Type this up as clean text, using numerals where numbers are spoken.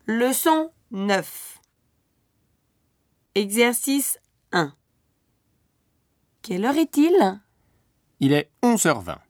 Leçon 9. Exercice 1. Quelle heure est-il ? Il est 11h20.